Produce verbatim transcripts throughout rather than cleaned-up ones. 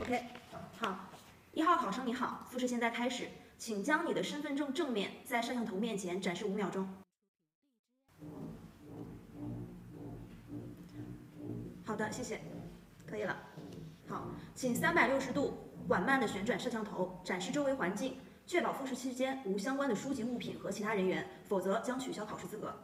OK， 好，一号考生你好，复试现在开始，请将你的身份证正面在摄像头面前展示五秒钟。好的，谢谢，可以了。好，请三百六十度缓慢地旋转摄像头，展示周围环境，确保复试期间无相关的书籍、物品和其他人员，否则将取消考试资格。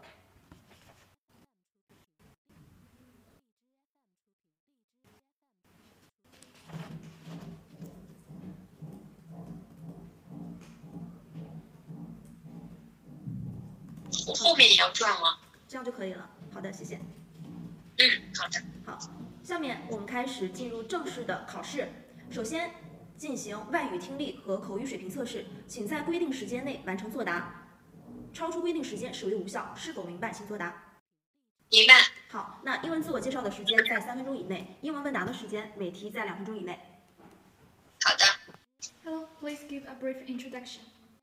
我后面也要转吗？ 这样就可以了。好的，谢谢。 嗯，好的。 好，下面我们开始进入正式的考试。首先进行外语听力和口语水平测试，请在规定时间内完成作答，超出规定时间视为无效。是否明白？请作答。 明白。 好，那英文自我介绍的时间在三分钟以内，英文问答的时间每题在两分钟以内。 好的。 Hello, please give a brief introduction.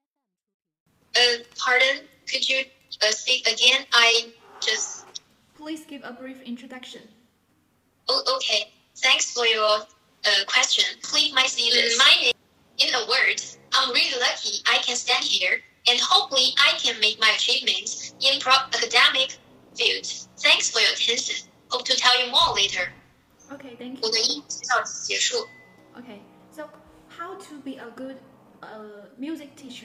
Uh, pardon? Could you uh, speak again? I just. Please give a brief introduction. Oh, okay. Thanks for your uh, question. Please, my students. My name, in a word, I'm really lucky I can stand here, and hopefully I can make my achievements in pro academic field. Thanks for your attention. Hope to tell you more later. Okay, thank you. 我的英语介绍结束。 Okay, so how to be a good uh, music teacher?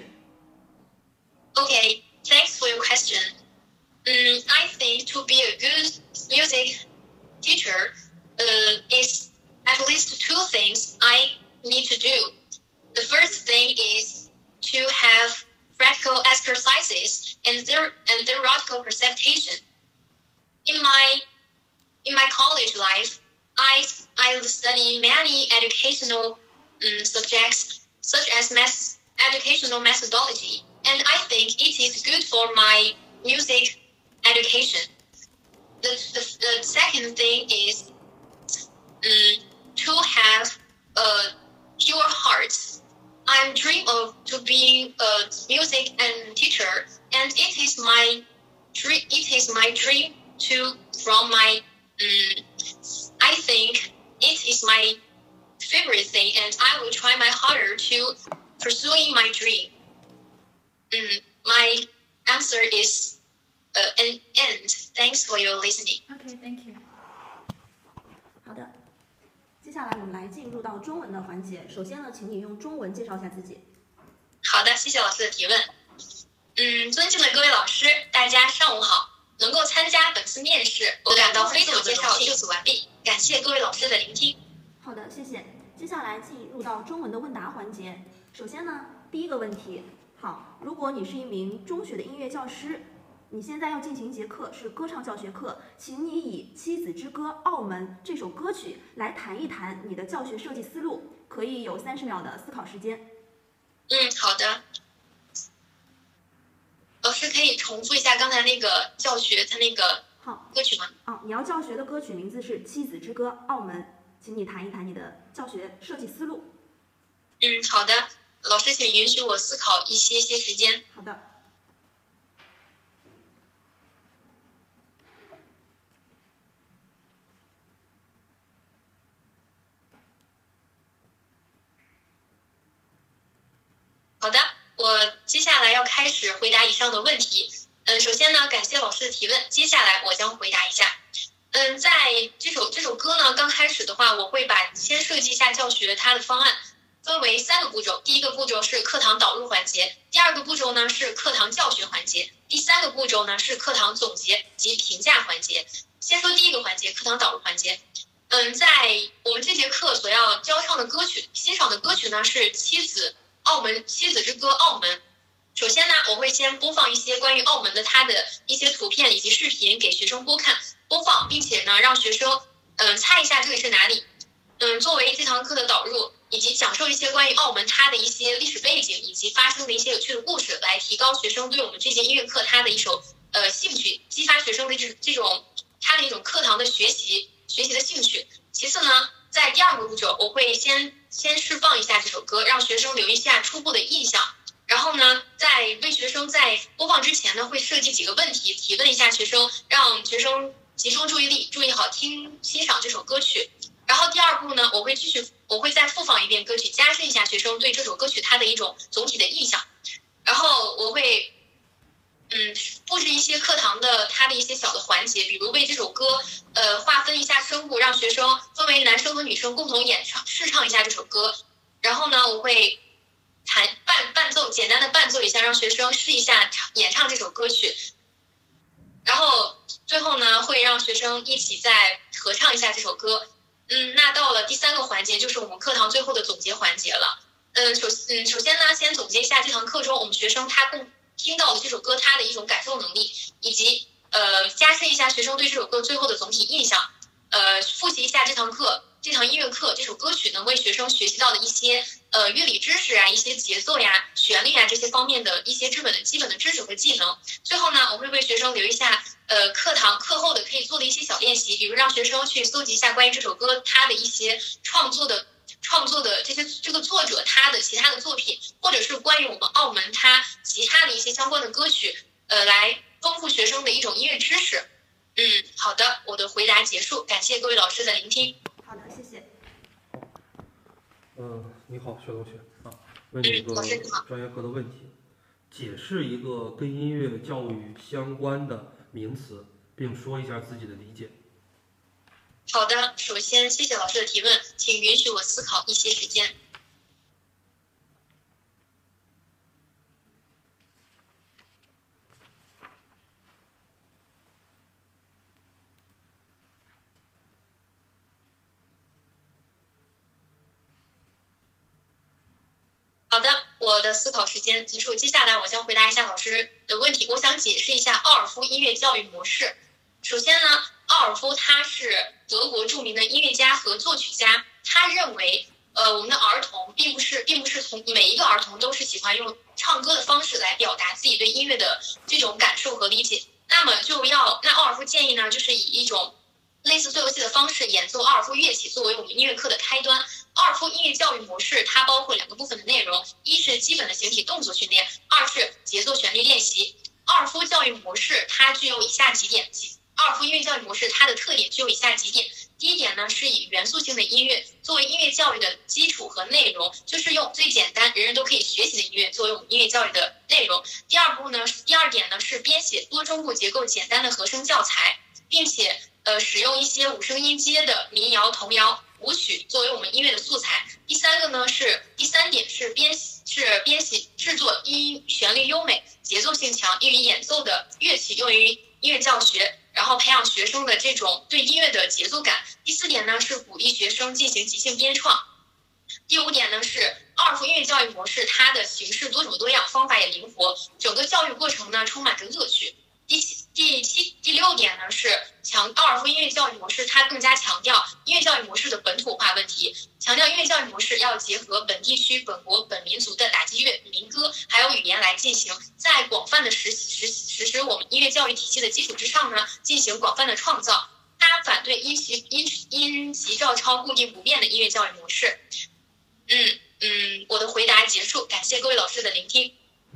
Okay, thanks for your question. Um, I think to be a good music teacher uh, is at least two things I need to do. The first thing is to have practical exercises and, their, and theoretical presentation. In my in my college life, I I study many educational um, subjects such as math, educational methodology, and I think it is good for my music education. The, the, the second thing is um, to have a pure heart. I'm dream of to being a music and teacher, and it is my dream. It is my dream to from my. Um, I think it is my favorite thing, and I will try my harder to pursuing my dream. Um, my answer is uh, an end. Thanks for your listening. Okay, thank you. 好的，接下来我们来进入到中文的环节。首先呢，请你用中文介绍一下自己。 好的，谢谢老师的提问。嗯，尊敬的各位老师，大家上午好。能够参加本次面试，我感到非常的荣幸。就此完毕，感谢各位老师的聆听。 好的，谢谢。接下来进入到中文的问答环节。首先呢，第一个问题，好，如果你是一名中学的音乐教师，你现在要进行一节课，是歌唱教学课，请你以《妻子之歌·澳门》这首歌曲来谈一谈你的教学设计思路，可以有三十秒的思考时间。 嗯，好的。老师可以重复一下刚才那个教学他那个好歌曲吗？ 哦，你要教学的歌曲名字是《妻子之歌·澳门》，请你谈一谈你的教学设计思路。 嗯，好的，老师请允许我思考一些些时间。 好的。 好的，我接下来要开始回答以上的问题。嗯，首先呢，感谢老师的提问，接下来我将回答一下。嗯，在这首这首歌呢，刚开始的话，我会把先设计一下教学它的方案，分为三个步骤。第一个步骤是课堂导入环节，第二个步骤呢是课堂教学环节，第三个步骤呢是课堂总结及评价环节。先说第一个环节，课堂导入环节。嗯，在我们这节课所要教唱的歌曲，欣赏的歌曲呢是《妻子》。澳门妻子之歌澳门。首先呢，我会先播放一些关于澳门的它的一些图片以及视频给学生播看播放，并且呢让学生嗯、呃、猜一下这里是哪里。嗯，作为这堂课的导入，以及讲授一些关于澳门它的一些历史背景以及发生的一些有趣的故事，来提高学生对我们这节音乐课它的一首呃兴趣，激发学生的这这种它的一种课堂的学习学习的兴趣。其次呢，在第二个步骤，我会先先释放一下这首歌，让学生留一下初步的印象。然后呢，在为学生在播放之前呢，会设计几个问题，提问一下学生，让学生集中注意力，注意好听欣赏这首歌曲。 然后第二步呢，我会继续，我会再复放一遍歌曲，加深一下学生对这首歌曲它的一种总体的印象。然后我会，嗯，布置一些课堂的它的一些小的环节，比如为这首歌，呃，划分一下声部，让学生分为男生和女生共同演唱试唱一下这首歌。然后呢，我会弹伴伴奏，简单的伴奏一下，让学生试一下演唱这首歌曲。然后最后呢，会让学生一起再合唱一下这首歌。嗯，那到了第三个环节，就是我们课堂最后的总结环节了。嗯，首嗯，首先呢，先总结一下这堂课中我们学生他共听到的这首歌他的一种感受能力，以及呃加深一下学生对这首歌最后的总体印象。呃，复习一下这堂课这堂音乐课这首歌曲能为学生学习到的一些呃乐理知识啊、一些节奏呀、旋律啊这些方面的一些基本的基本的知识和技能。最后呢，我会为学生留一下呃课堂课后的可以做的一些小练习，比如让学生去搜集一下关于这首歌它的一些创作的。创作的这些这个作者他的其他的作品，或者是关于我们澳门他其他的一些相关的歌曲，呃，来丰富学生的一种音乐知识。嗯，好的，我的回答结束，感谢各位老师的聆听。 好的，谢谢。 嗯，你好，薛同学啊，问你一个专业课的问题，解释一个跟音乐教育相关的名词，并说一下自己的理解。 好的，首先谢谢老师的提问，请允许我思考一些时间。好的，我的思考时间结束，接下来我将回答一下老师的问题。我想解释一下奥尔夫音乐教育模式。首先呢，奥尔夫他是德国著名的音乐家和作曲家，他认为，呃，我们的儿童并不是，并不是从每一个儿童都是喜欢用唱歌的方式来表达自己对音乐的这种感受和理解。那么就要，那奥尔夫建议呢，就是以一种类似做游戏的方式演奏奥尔夫乐器作为我们音乐课的开端。奥尔夫音乐教育模式它包括两个部分的内容，一是基本的形体动作训练，二是节奏旋律练习。奥尔夫教育模式它具有以下几点。奥尔夫音乐教育模式它的特点具有以下几点。第一点呢，是以元素性的音乐作为音乐教育的基础和内容，就是用最简单人人都可以学习的音乐作为我们音乐教育的内容。第二步呢，第二点呢是编写多声部结构简单的和声教材，并且呃使用一些五声音阶的民谣、童谣、舞曲作为我们音乐的素材。第三个呢是第三点是编是编写制作音旋律优美、节奏性强、易于演奏的乐器，用于音乐教学。然后培养学生的这种对音乐的节奏感。第四点呢是鼓励学生进行即兴编创。第五点呢是奥尔夫音乐教育模式，它的形式多种多样，方法也灵活，整个教育过程呢充满着乐趣。第七、第七、第六点呢是强奥尔夫音乐教育模式，它更加强调音乐教育模式的本土化问题，强调音乐教育模式要结合本地区、本国、本民族的打击乐、民歌还有语言来进行，在广泛的实实实施我们音乐教育体系的基础之上呢，进行广泛的创造。他反对因袭因因袭照抄固定不变的音乐教育模式。嗯嗯，我的回答结束，感谢各位老师的聆听。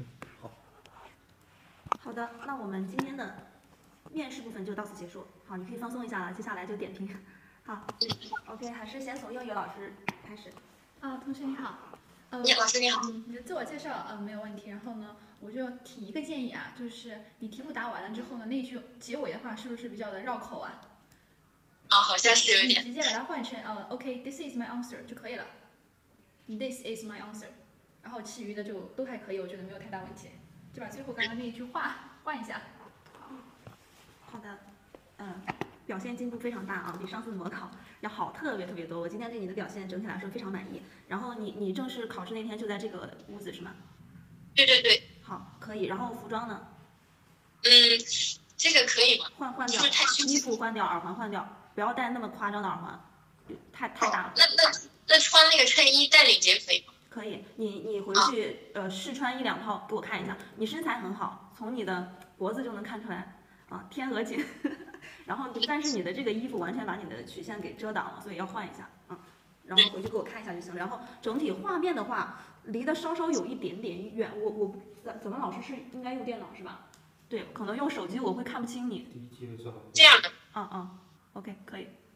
好的，那我们今天的面试部分就到此结束。好，你可以放松一下了，接下来就点评。好 ，OK， 还是先从英语老师开始。 啊，同学你好。呃， 你老师你好。 嗯，你的自我介绍呃没有问题。然后呢，我就提一个建议啊，就是你题目答完了之后呢，那句结尾的话是不是比较的绕口啊？ 啊，好像是有点。 你直接把它换成呃 ，OK，this is my answer 就可以了。This is my answer， 然后其余的就都还可以，我觉得没有太大问题。就把最后刚刚那一句话换一下。 好，好的，嗯，表现进步非常大啊，比上次模考要好特别特别多。我今天对你的表现整体来说非常满意。然后你你正式考试那天就在这个屋子是吗？ 对对对。 好，可以。然后服装呢？ 嗯，这个可以吗？ 换换掉，衣服换掉，耳环换掉，不要戴那么夸张的耳环，太太大了。 那那那穿那个衬衣带领结可以吗？ 可以，你你回去呃试穿一两套给我看一下。你身材很好，从你的脖子就能看出来啊，天鹅颈。然后但是你的这个衣服完全把你的曲线给遮挡了，所以要换一下啊。然后回去给我看一下就行。然后整体画面的话，离得稍稍有一点点远。我我咱咱们老师是应该用电脑是吧？对，可能用手机我会看不清你。 这样的。 嗯嗯 ，OK 可以。 这样。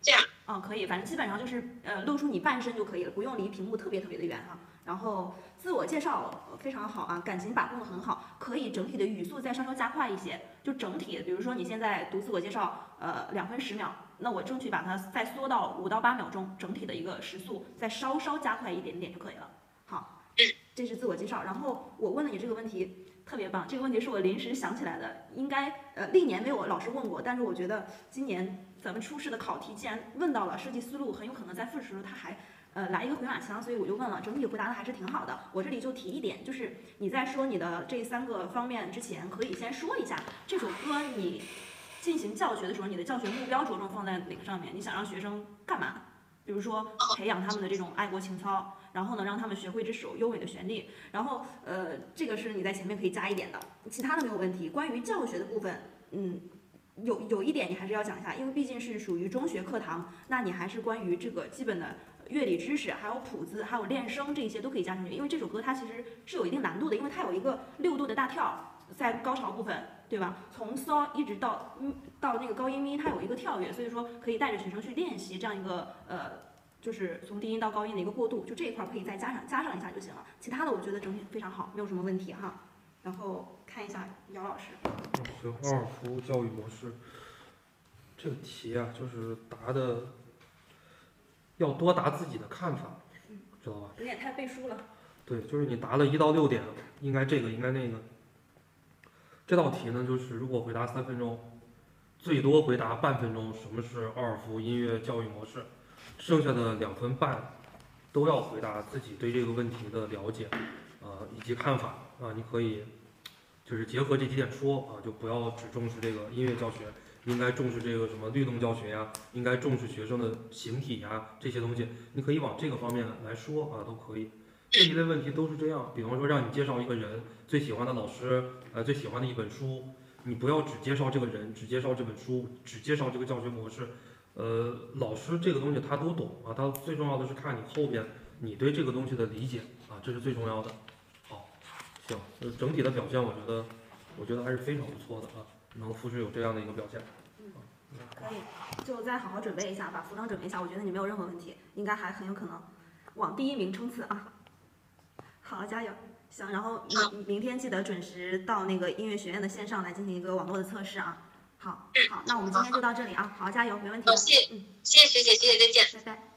嗯，可以，反正基本上就是呃露出你半身就可以了，不用离屏幕特别特别的远哈。然后自我介绍非常好啊，感情把控的很好，可以整体的语速再稍稍加快一些，就整体，比如说你现在读自我介绍，呃两分十秒，那我争取把它再缩到五到八秒钟，整体的一个时速再稍稍加快一点点就可以了。好，这是自我介绍。然后我问了你这个问题。特别棒，这个问题是我临时想起来的，应该呃历年没有老师问过，但是我觉得今年咱们初试的考题既然问到了设计思路，很有可能在复试时候他还呃来一个回马枪，所以我就问了，整体回答的还是挺好的。我这里就提一点，就是你在说你的这三个方面之前，可以先说一下这首歌你进行教学的时候，你的教学目标着重放在哪个上面？你想让学生干嘛？比如说培养他们的这种爱国情操。然后呢，让他们学会这首优美的旋律。然后，呃，这个是你在前面可以加一点的，其他的没有问题。关于教学的部分，嗯，有有一点你还是要讲一下，因为毕竟是属于中学课堂，那你还是关于这个基本的乐理知识，还有谱子，还有练声这些都可以加上去。因为这首歌它其实是有一定难度的，因为它有一个六度的大跳，在高潮部分，对吧？从嗦一直到嗯到那个高音咪，它有一个跳跃，所以说可以带着学生去练习这样一个呃。就是从低音到高音的一个过渡，就这一块可以再加上加上一下就行了。其他的我觉得整体非常好，没有什么问题哈。然后看一下姚老师。 行，奥尔夫教育模式这个题啊，就是答的要多答自己的看法，知道吧？ 有点太背书了。 对，就是你答了一到六点，应该这个应该那个。这道题呢，就是如果回答三分钟，最多回答半分钟，什么是奥尔夫音乐教育模式？剩下的两分半都要回答自己对这个问题的了解，啊、呃、以及看法啊、呃，你可以就是结合这几点说啊，就不要只重视这个音乐教学，应该重视这个什么律动教学呀，应该重视学生的形体呀这些东西，你可以往这个方面来说啊，都可以。这一类问题都是这样，比方说让你介绍一个人最喜欢的老师，呃最喜欢的一本书，你不要只介绍这个人，只介绍这本书，只介绍这个教学模式。呃，老师这个东西他都懂啊，他最重要的是看你后边你对这个东西的理解啊，这是最重要的。好，行，呃，整体的表现我觉得，我觉得还是非常不错的啊，能复试有这样的一个表现。 嗯，可以，就再好好准备一下，把服装准备一下，我觉得你没有任何问题，应该还很有可能往第一名冲刺啊。好，加油！行，然后明明天记得准时到那个音乐学院的线上来进行一个网络的测试啊。好，好，那我们今天就到这里啊，好，加油，没问题的。 谢谢，嗯，谢谢学姐，谢谢，再见， 拜拜。